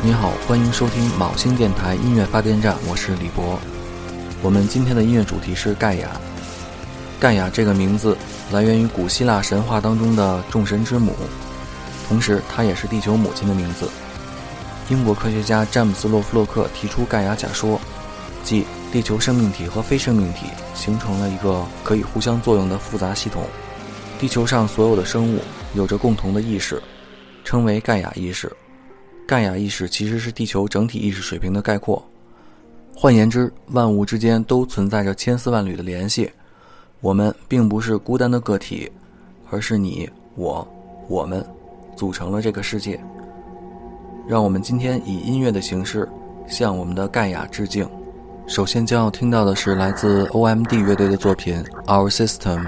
你好，欢迎收听卯星电台音乐发电站，我是李博。我们今天的音乐主题是盖亚。盖亚这个名字来源于古希腊神话当中的众神之母，同时它也是地球母亲的名字。英国科学家詹姆斯·洛夫洛克提出盖亚假说，即地球生命体和非生命体形成了一个可以互相作用的复杂系统。地球上所有的生物有着共同的意识，称为盖亚意识。盖亚意识其实是地球整体意识水平的概括。换言之，万物之间都存在着千丝万缕的联系。我们并不是孤单的个体，而是你、我们组成了这个世界。让我们今天以音乐的形式向我们的盖亚致敬。首先将要听到的是来自 OMD 乐队的作品 Our System。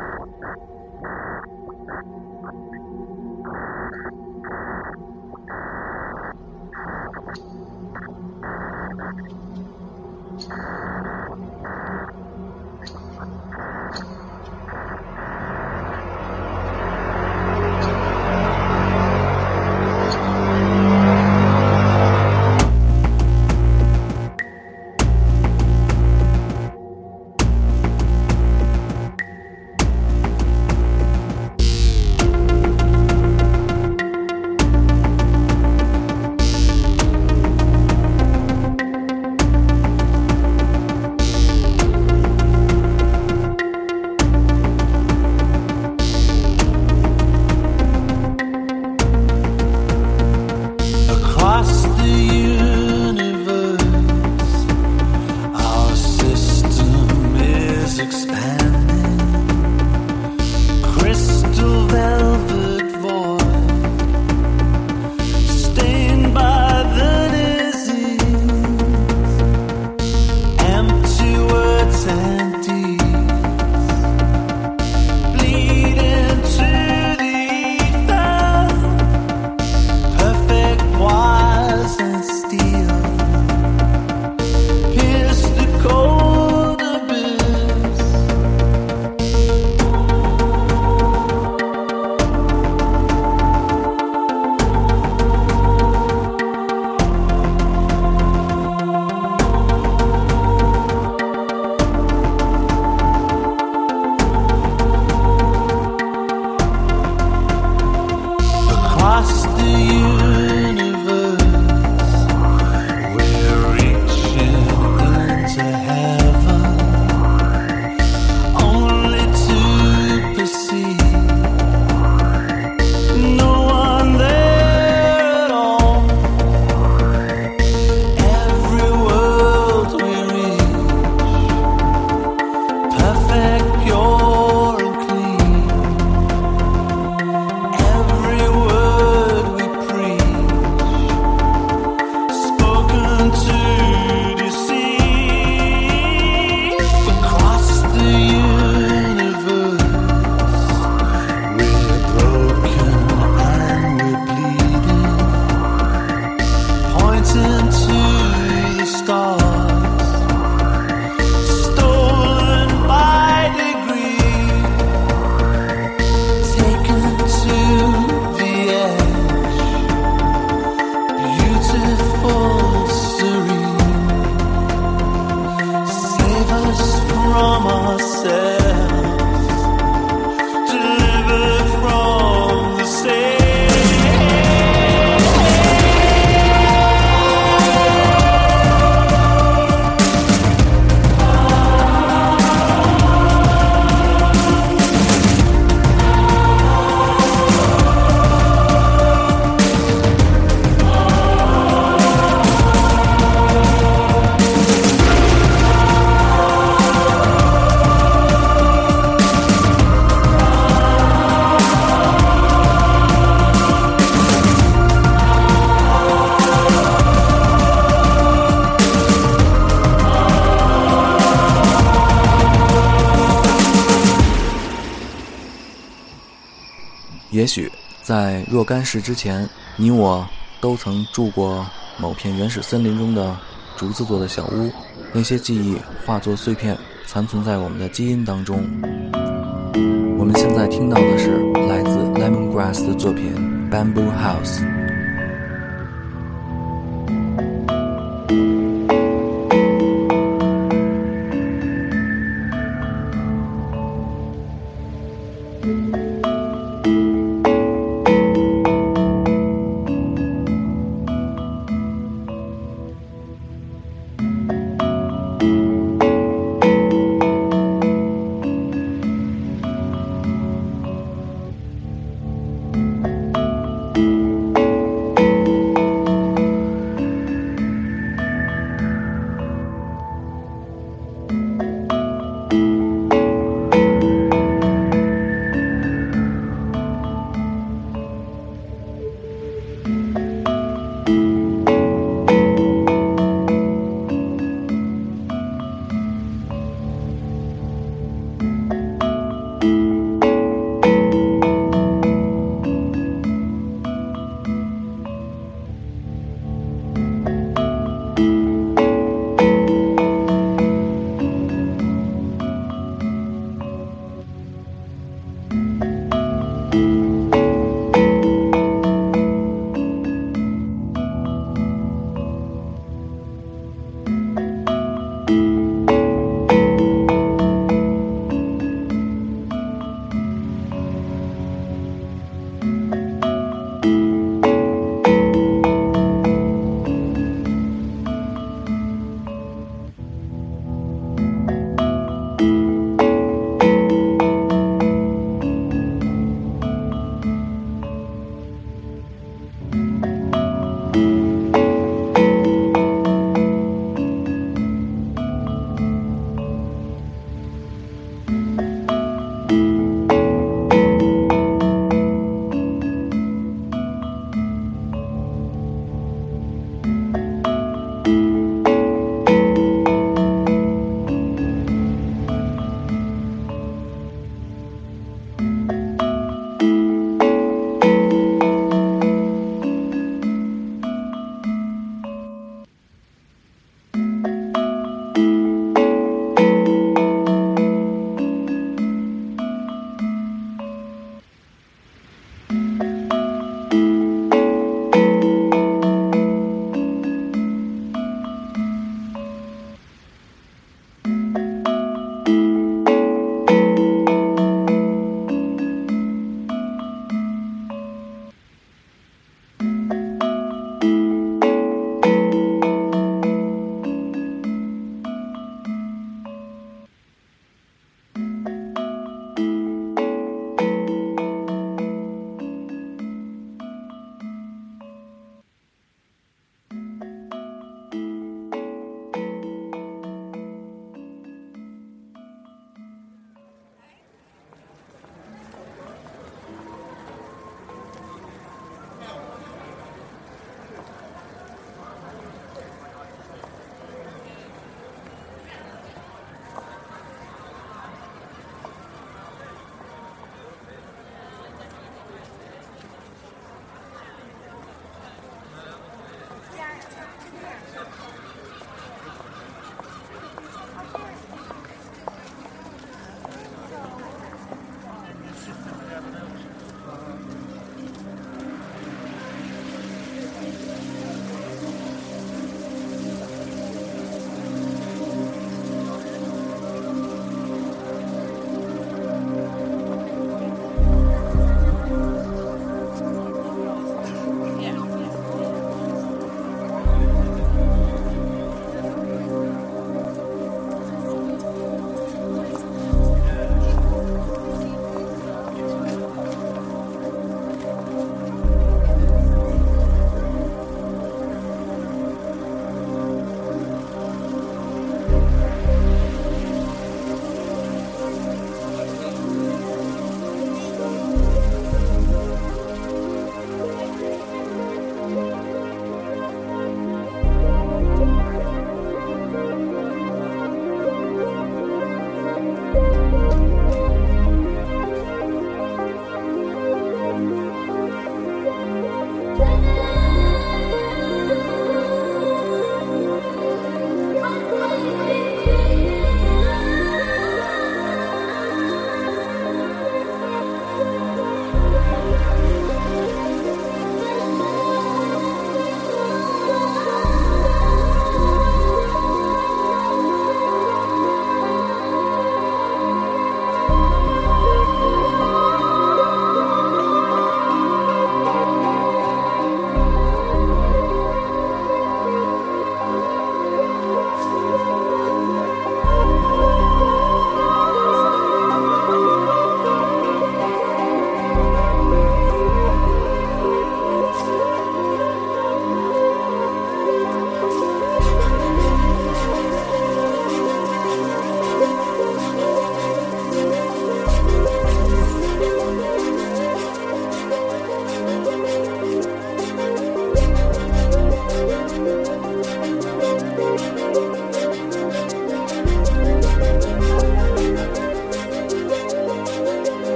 也许在若干世之前，你我都曾住过某片原始森林中的竹子做的小屋，那些记忆化作碎片残存在我们的基因当中。我们现在听到的是来自 Lemongrass 的作品 Bamboo House。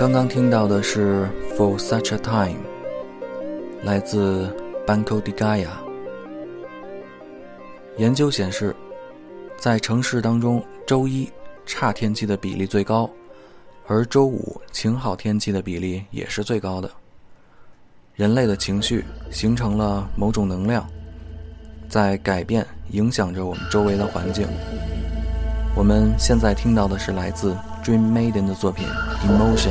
刚刚听到的是 For Such a Time， 来自 Banco de Gaia。 研究显示，在城市当中，周一差天气的比例最高，而周五晴好天气的比例也是最高的。人类的情绪形成了某种能量，在改变影响着我们周围的环境。我们现在听到的是来自 Dream Maiden 的作品 Emotion。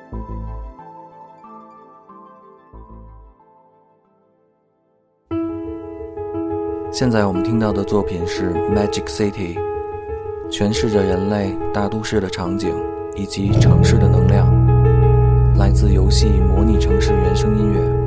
现在我们听到的作品是 Magic City， 诠释着人类大都市的场景以及城市的能量，来自游戏模拟城市原声音乐。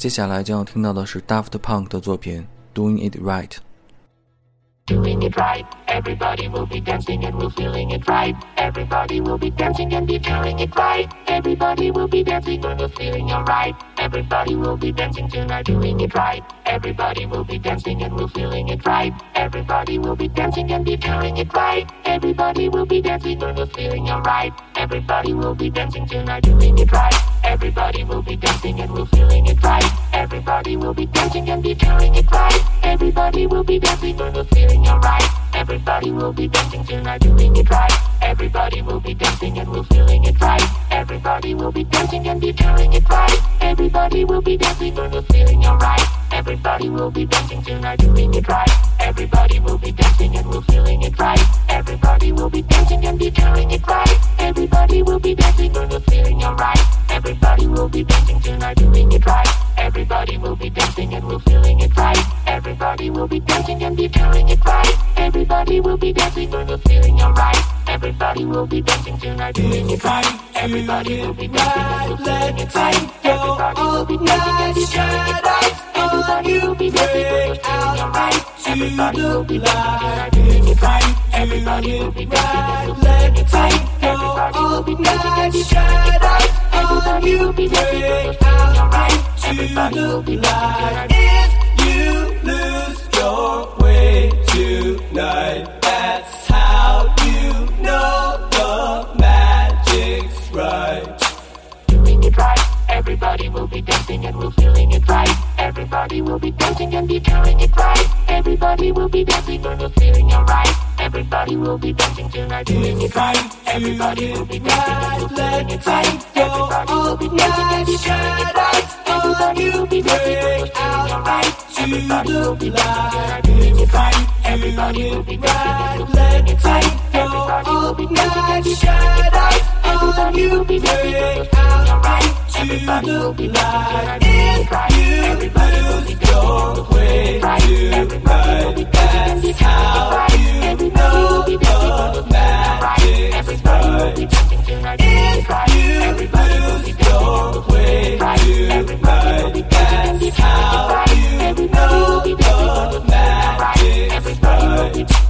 接下来将要听到的是 Daft Punk 的作品 Doing It Right。Doing it right, everybody will be dancing and we're feeling it right. Everybody will be dancing and be doing it right. Everybody will be dancing and we're feeling alright. Everybody will be dancing tonight, doing it right. Everybody will be dancing and we're feeling it right. Everybody will be dancing and be doing it right. Everybody will be dancing and we're feeling alright. Everybody will be dancing tonight, doing it right. Everybody will be dancing and we're feeling it right. Everybody will be dancing and be doing it right. Everybody will be dancing and we're feeling alright. Everybody will be dancing tonight, doing it right. Everybody will be dancing and we're feeling it right. Everybody will be dancing and be doing it right. Everybody will be dancing and we're feeling alright. Everybody will be dancing tonight, doing it right. Everybody will be dancing and we're feeling it right. Everybody will be dancing and be doing it right. Everybody will be dancing and we're feeling alright. Everybody will be dancing tonight, doing it right. Everybody will be dancing and we're feeling it right. Everybody will be dancing and be doing it right. Everybody will be dancing and we're feeling alright. Everybody will be dancing tonight, doing it right. Everybody will be dancing and we're feeling it right. Everybody will be dancing and be doing it right. Everybody will be dancing and we're feeling alright. Everybody will be dancing tonight, doing it right. Everybody will be dancing and we're feeling it right. Everybody will be dancing and be doing it right. Everybody will be dancing and we're feeling alright. Everybody will be dancing tonight. If you lose your way tonight, that's how you know the magic's right. Doing it right. Everybody will be dancing and we're feeling it right. Everybody will be dancing and be doing it right. Everybody will be dancing and we're feeling alright. Everybody will be dancing tonight, doing it right. Everybody will be dancing and we're feeling it right. Everybody will be dancing and be doing it right. Everybody will be dancing and we're feeling alright. Everybody will be dancing tonight, doing it right. Everybody will be dancing and we're feeling it right. Everybody will be dancing and be doing it right. Everybody will be dancing and we're feeling alright. Everybody will be dancing tonight, doing it right. Everybody will be dancing and we're feeling it right. Everybody will be dancing and be doing it right. Everybody will be dancing and we're feeling alright. Everybody will be dancing tonight, doing it right. Everybody will be dancing and we're feeling it right. Everybody will be dancing and be doing it right. Everybody will be dancing and we're feeling alright. Everybody will be dancing.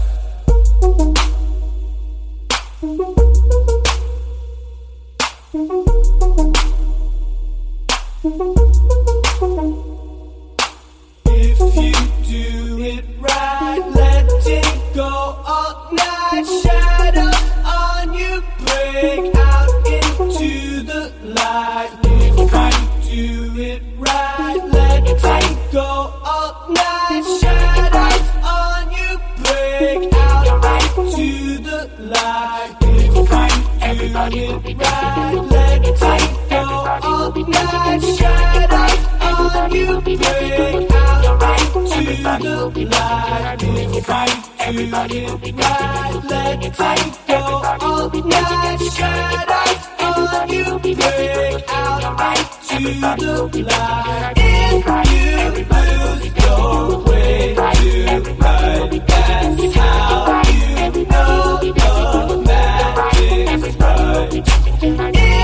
If you do it right, let it go all night. Shadows on you, break out into the light. If you do it right, let it go all night. Shadows on you, break out into the light. If you do it right, let it go all night. Shadows on you, break out into the light. If you do it right, let it go all night. Shadows on you, break out into the light. If you lose your way tonight, that's how you know the magic's right. If you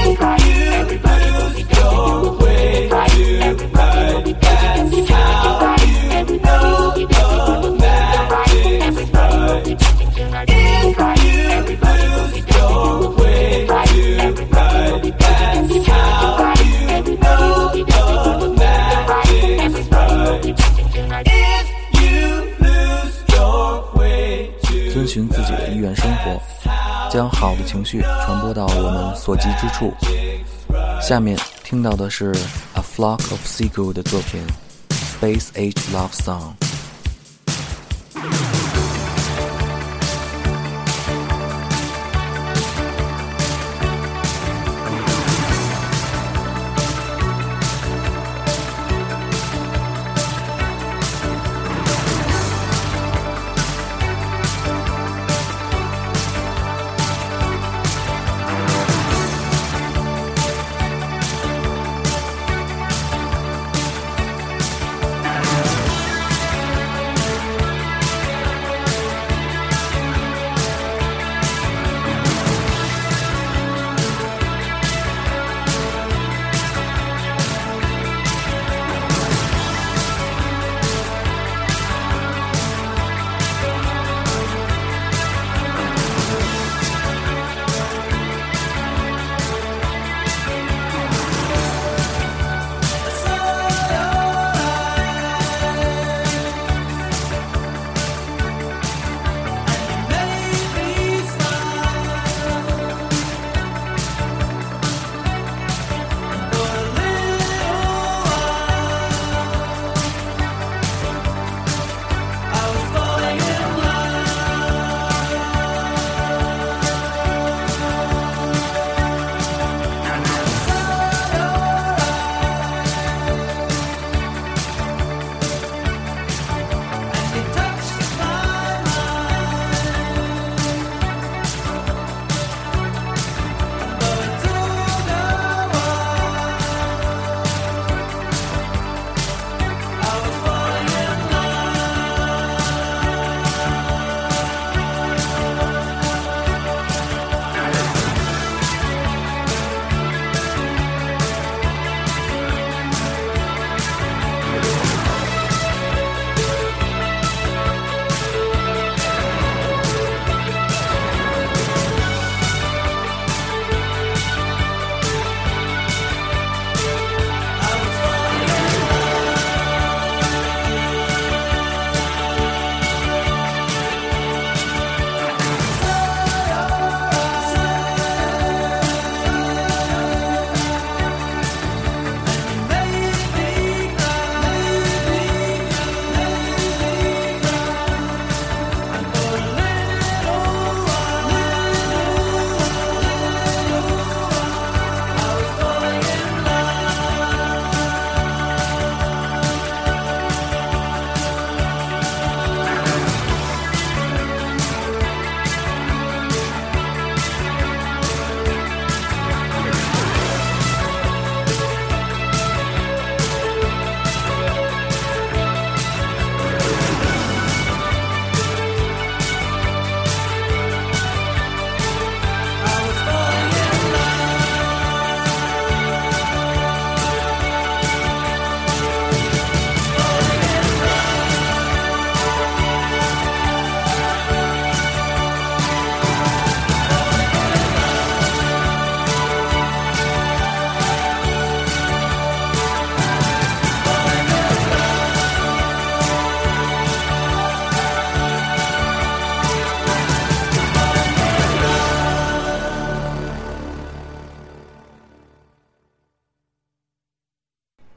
lose your way tonight, that's how you know the magic's right. If you lose your way tonight, that's how you know the magic's right. If you lose your way tonight, 遵循自己的意愿生活，将好的情绪传播到我们所及之处。下面听到的是 A Flock of Seagull 的作品 Space Age Love Song。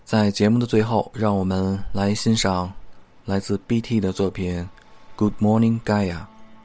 在节目的最后，让我们来欣赏来自 BT 的作品 Good Morning Gaia。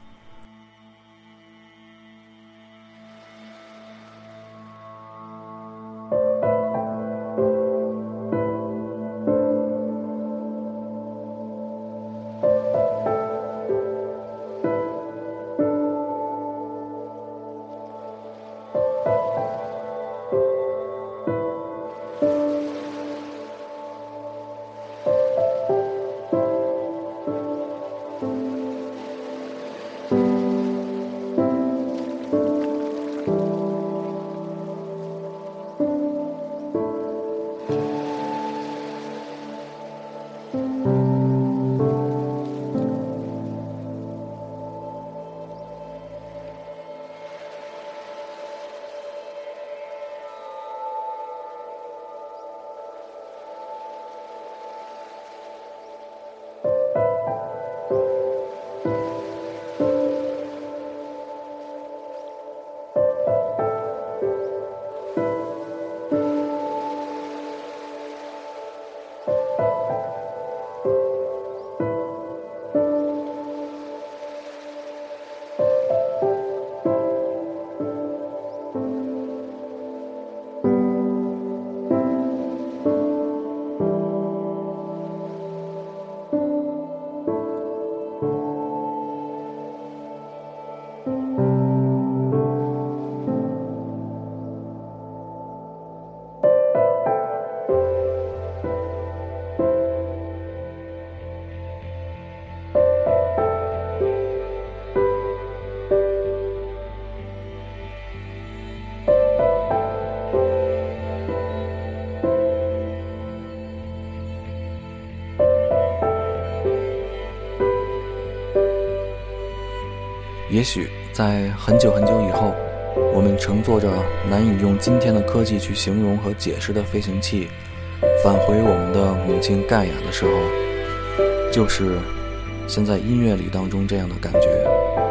也许在很久很久以后，我们乘坐着难以用今天的科技去形容和解释的飞行器返回我们的母亲盖亚的时候，就是现在音乐里当中这样的感觉。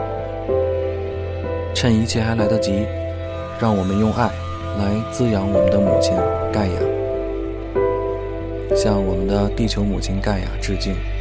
趁一切还来得及，让我们用爱来滋养我们的母亲盖亚，向我们的地球母亲盖亚致敬。